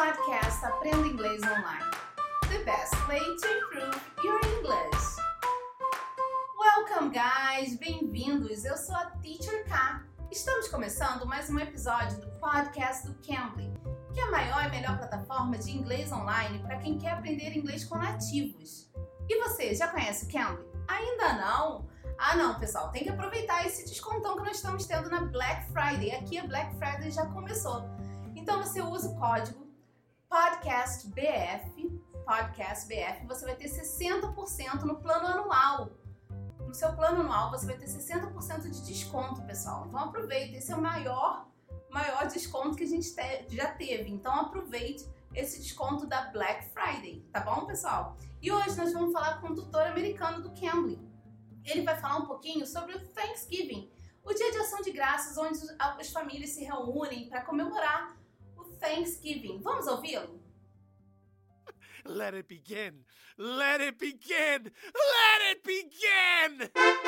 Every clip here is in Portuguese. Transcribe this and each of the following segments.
podcast Aprenda Inglês Online. The best way to improve your English. Welcome, guys! Bem-vindos! Eu sou a Teacher K. Estamos começando mais um episódio do podcast do Cambly, que é a maior e melhor plataforma de inglês online para quem quer aprender inglês com nativos. E você, já conhece o Cambly? Ainda não? Ah não, pessoal, tem que aproveitar esse descontão que nós estamos tendo na Black Friday. Aqui a Black Friday já começou. Então você usa o código PODCASTBF, você vai ter 60% no plano anual. No seu plano anual você vai ter 60% de desconto, pessoal. Então aproveita, esse é o maior desconto que a gente já teve. Então aproveite esse desconto da Black Friday, tá bom, pessoal? E hoje nós vamos falar com o tutor americano do Cambly. Ele vai falar um pouquinho sobre o Thanksgiving, o dia de ação de graças, onde as famílias se reúnem para comemorar o Thanksgiving. Vamos ouvi-lo? Let it begin! Let it begin! Let it begin!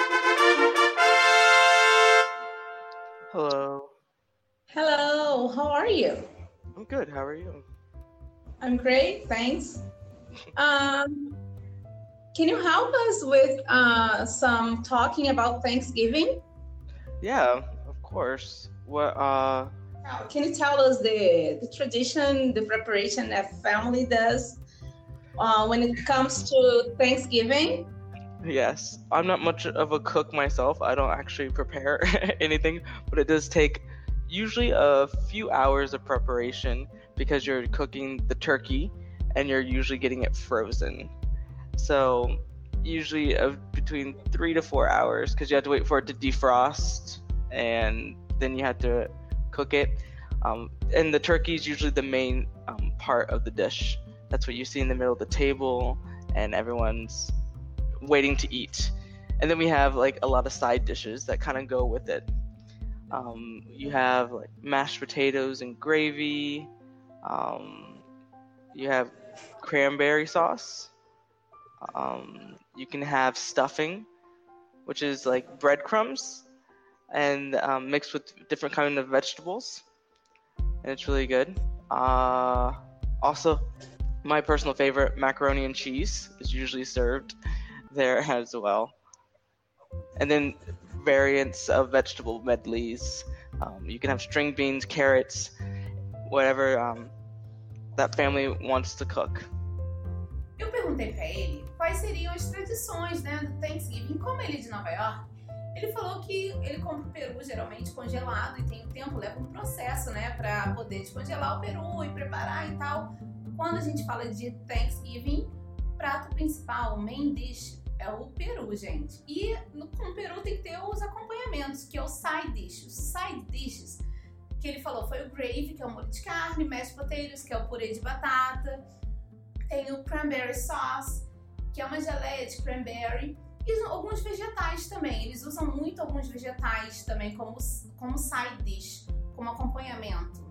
Hello. Hello, how are you? I'm good. How are you? I'm great, thanks. Can you help us with some talking about Thanksgiving? Yeah, of course. What? Can you tell us the tradition, the preparation that family does when it comes to Thanksgiving? Yes, I'm not much of a cook myself. I don't actually prepare anything, but it does take usually a few hours of preparation because you're cooking the turkey and you're usually getting it frozen. So usually between 3 to 4 hours because you have to wait for it to defrost and then you have to cook it. And the turkey is usually the main part of the dish. That's what you see in the middle of the table and everyone's waiting to eat. And then we have like a lot of side dishes that kind of go with it. You have like mashed potatoes and gravy. You have cranberry sauce. You can have stuffing, which is like breadcrumbs and mixed with different kinds of vegetables, and it's really good. Also, my personal favorite, macaroni and cheese, is usually served there as well. And then variants of vegetable medleys. You can have string beans, carrots, whatever that family wants to cook. Eu perguntei para ele quais seriam as tradições, né, do Thanksgiving. Como ele é de Nova York, ele falou que ele compra o peru geralmente congelado e tem um tempo, leva um processo, né, para poder descongelar o peru e preparar e tal. Quando a gente fala de Thanksgiving, o prato principal, o main dish, é o peru, gente. E com o peru tem que ter os acompanhamentos, que é o side dish. Os side dishes que ele falou foi o gravy, que é o molho de carne, mashed potatoes, que é o purê de batata. Tem o cranberry sauce, que é uma geleia de cranberry, e alguns vegetais também. Eles usam muito alguns vegetais também como side dish, como acompanhamento.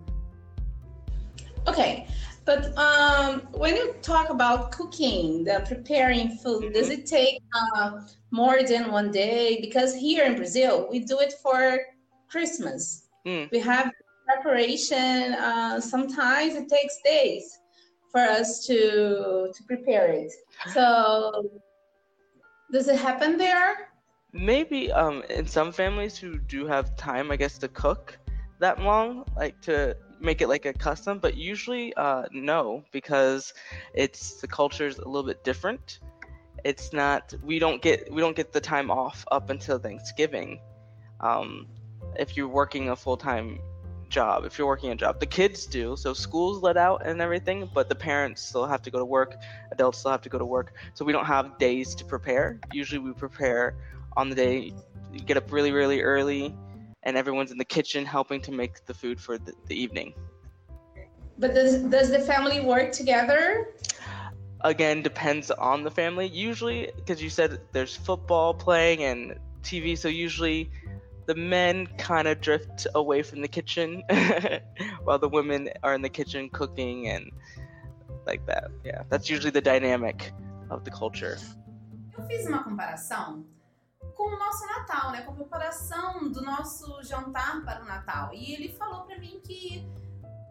Okay, but when you talk about cooking, the preparing food, does it take more than one day? Because here in Brazil, we do it for Christmas. We have preparation. Sometimes it takes days for us to prepare it. So does it happen there? Maybe in some families who do have time, I guess, to cook that long, like to make it like a custom, but usually no, because the culture is a little bit different. It's not, we don't get the time off up until Thanksgiving. If you're working a full-time job, the kids do, so school's let out and everything, but the parents still have to go to work, adults still have to go to work, so we don't have days to prepare. Usually we prepare on the day, you get up really, really early, and everyone's in the kitchen helping to make the food for the evening. But does the family work together? Again, depends on the family. Usually, because you said there's football playing and TV, so usually the men kind of drift away from the kitchen while the women are in the kitchen cooking and like that. Yeah, that's usually the dynamic of the culture. Eu fiz uma comparação com o nosso Natal, né? Com a preparação do nosso jantar para o Natal. E ele falou para mim que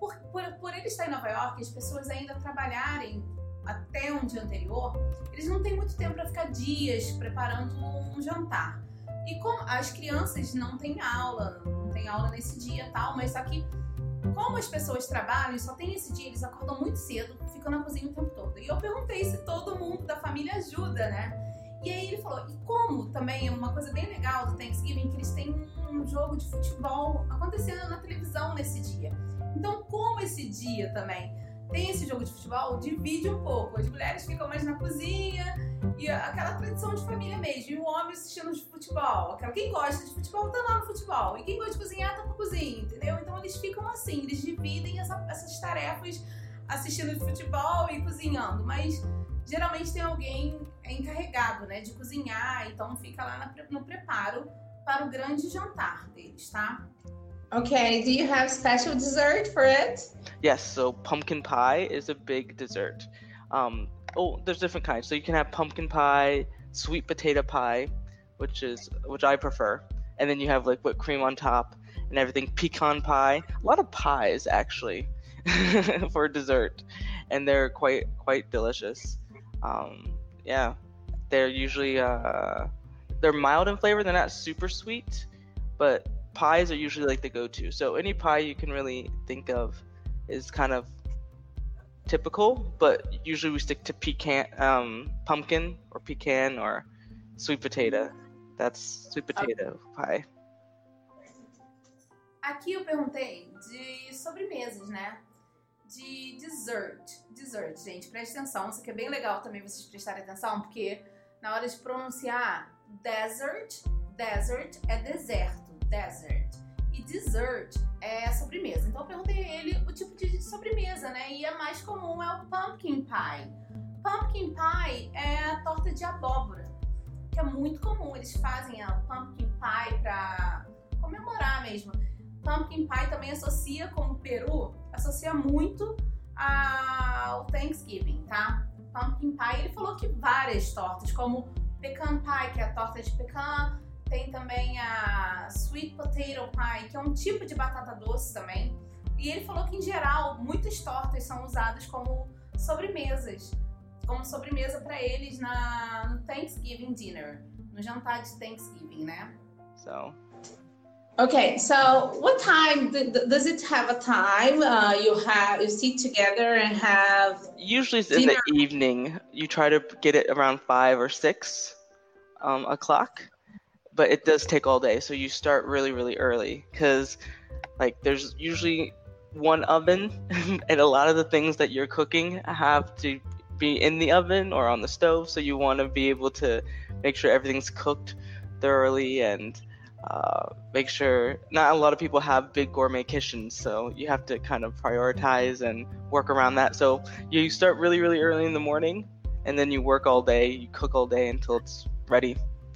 por ele estar em Nova York, as pessoas ainda trabalharem até um dia anterior, eles não têm muito tempo para ficar dias preparando um jantar. E como as crianças não têm aula nesse dia e tal, mas só que como as pessoas trabalham e só tem esse dia, eles acordam muito cedo, ficam na cozinha o tempo todo. E eu perguntei se todo mundo da família ajuda, né? E aí ele falou, e como também é uma coisa bem legal do Thanksgiving, que eles têm um jogo de futebol acontecendo na televisão nesse dia. Então, como esse dia também tem esse jogo de futebol, divide um pouco. As mulheres ficam mais na cozinha e aquela tradição de família mesmo. E o homem assistindo de futebol. Quem gosta de futebol tá lá no futebol. E quem gosta de cozinhar tá na cozinha, entendeu? Então eles ficam assim, eles dividem essas tarefas assistindo de futebol e cozinhando. Mas geralmente tem alguém encarregado, né, de cozinhar. Então fica lá no preparo para o grande jantar deles, tá? Okay, do you have special dessert for it? Yes, so pumpkin pie is a big dessert. There's different kinds. So you can have pumpkin pie, sweet potato pie, which I prefer. And then you have like whipped cream on top and everything. Pecan pie. A lot of pies actually for dessert. And they're quite delicious. Yeah. They're usually they're mild in flavor, they're not super sweet, but pies are usually like the go-to. So any pie you can really think of is kind of typical, but usually we stick to pumpkin or pecan or sweet potato. That's sweet potato pie. Aqui eu perguntei de sobremesas, né? De dessert, gente, preste atenção. Isso aqui é bem legal também vocês prestarem atenção, porque na hora de pronunciar desert é deserto. Desert. E dessert é sobremesa. Então eu perguntei a ele o tipo de sobremesa, né? E a mais comum é o pumpkin pie. Pumpkin pie é a torta de abóbora, que é muito comum. Eles fazem a pumpkin pie pra comemorar mesmo. Pumpkin pie também associa, como o Peru, associa muito ao Thanksgiving, tá? Pumpkin pie, ele falou que várias tortas, como pecan pie, que é a torta de pecan. Tem também a sweet potato pie, que é um tipo de batata doce também. E ele falou que, em geral, muitas tortas são usadas como sobremesas. Como sobremesa para eles no Thanksgiving dinner. No jantar de Thanksgiving, né? Okay, so what time does it have a time? You sit together and have usually it's dinner. In the evening. You try to get it around 5 or 6 o'clock. But it does take all day, so you start really early, because like there's usually one oven and a lot of the things that you're cooking have to be in the oven or on the stove, so you want to be able to make sure everything's cooked thoroughly and make sure. Not a lot of people have big gourmet kitchens, so you have to kind of prioritize and work around that. So you start really early in the morning, and then you work all day, you cook all day until it's ready.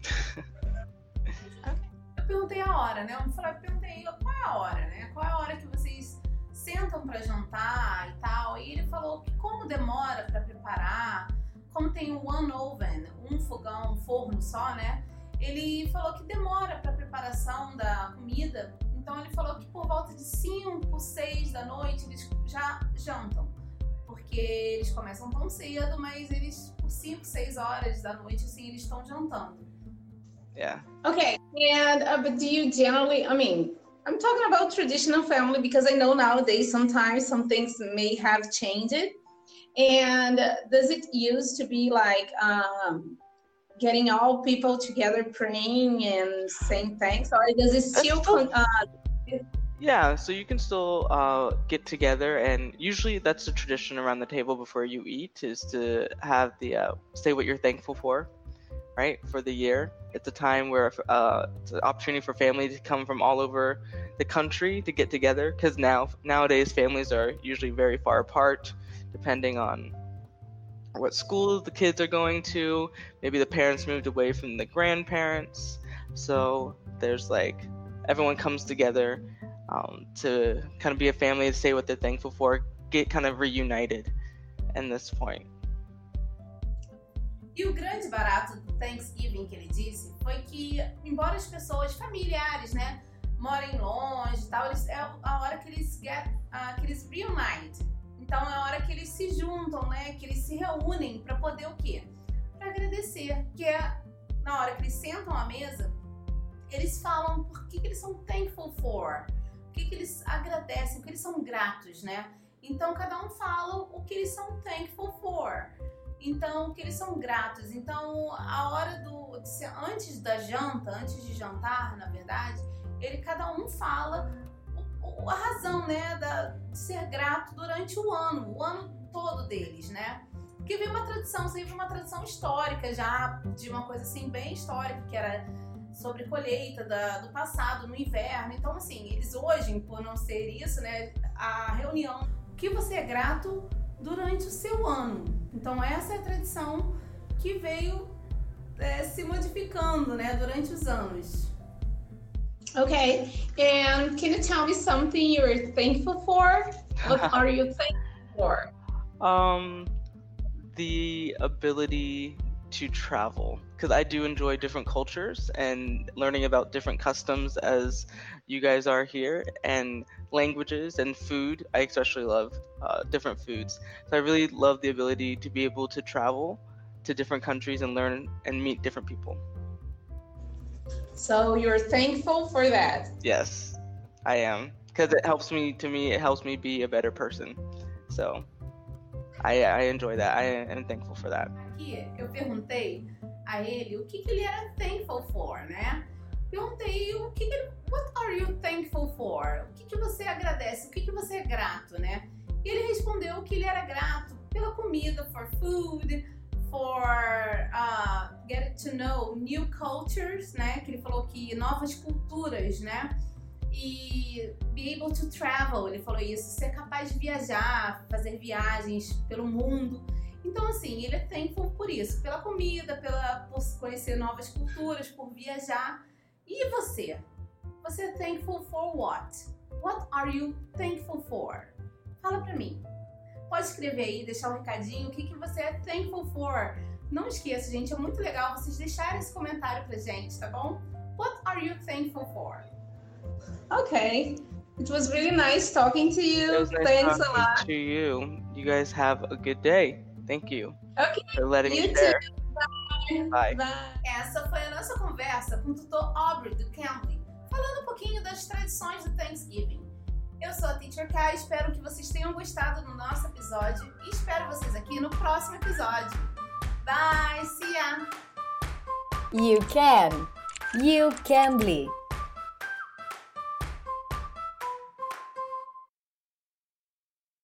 Perguntei a hora, né? Perguntei qual é a hora, né? Qual é a hora que vocês sentam pra jantar e tal. E ele falou que como demora pra preparar, como tem o one oven, um fogão, um forno só, né? Ele falou que demora pra preparação da comida. Então ele falou que por volta de 5, 6 da noite eles já jantam. Porque eles começam tão cedo, mas eles por 5, 6 horas da noite, assim, eles estão jantando. Yeah. Okay, and but do you generally, I mean, I'm talking about traditional family because I know nowadays sometimes some things may have changed. And does it used to be like getting all people together praying and saying thanks, or does it still? Yeah, so you can still get together, and usually that's a tradition around the table before you eat, is to have the say what you're thankful for, right, for the year. It's a time where it's an opportunity for families to come from all over the country to get together, because nowadays families are usually very far apart, depending on what schools the kids are going to. Maybe the parents moved away from the grandparents, so there's like everyone comes together to kind of be a family, to say what they're thankful for, get kind of reunited in this point. E o grande barato do Thanksgiving que ele disse foi que, embora as pessoas familiares, né, morem longe e tal, é a hora que eles reunite. Então é a hora que eles se juntam, né? Que eles se reúnem para poder o quê? Para agradecer. Que é na hora que eles sentam à mesa, eles falam por que eles são thankful for, o que eles agradecem, o que eles são gratos, né? Então cada um fala o que eles são thankful for. Então, o que eles são gratos. Então, a hora antes da janta, antes de jantar, na verdade, cada um fala a razão, né, de ser grato durante o ano todo deles, né? Porque veio uma tradição histórica já, de uma coisa assim bem histórica, que era sobre colheita do passado, no inverno. Então, assim, eles hoje, por não ser isso, né, a reunião, o que você é grato durante o seu ano. Então essa é a tradição que veio se modificando, né, durante os anos. Okay, and can you tell me something you're thankful for? What are you thankful for? The ability to travel, because I do enjoy different cultures and learning about different customs as you guys are here, and languages and food. I especially love different foods. So I really love the ability to be able to travel to different countries and learn and meet different people. So you're thankful for that? Yes, I am, because it helps me be a better person. So I enjoy that. I am thankful for that. Aqui eu perguntei a ele o que ele era thankful for, né? Perguntei what are you thankful for? O que você agradece? O que você é grato, né? E ele respondeu que ele era grato pela comida, for food, for getting to know new cultures, né? Que ele falou que novas culturas, né? E be able to travel, ele falou isso, ser capaz de viajar, fazer viagens pelo mundo. Então, assim, ele é thankful por isso, pela comida, por conhecer novas culturas, por viajar. E você? Você é thankful for what? What are you thankful for? Fala pra mim. Pode escrever aí, deixar um recadinho, o que você é thankful for. Não esqueça, gente, é muito legal vocês deixarem esse comentário pra gente, tá bom? What are you thankful for? Okay. It was really nice talking to you. It was nice Thanks talking a lot. to you. You guys have a good day. Thank you Okay. for letting You me share. too. Bye. Bye. Essa foi a nossa conversa com o tutor Aubrey do Cambly, falando um pouquinho das tradições do Thanksgiving. Eu sou a Teacher Kai, espero que vocês tenham gostado do nosso episódio e espero vocês aqui no próximo episódio. Bye, see ya! You can. You Cambly.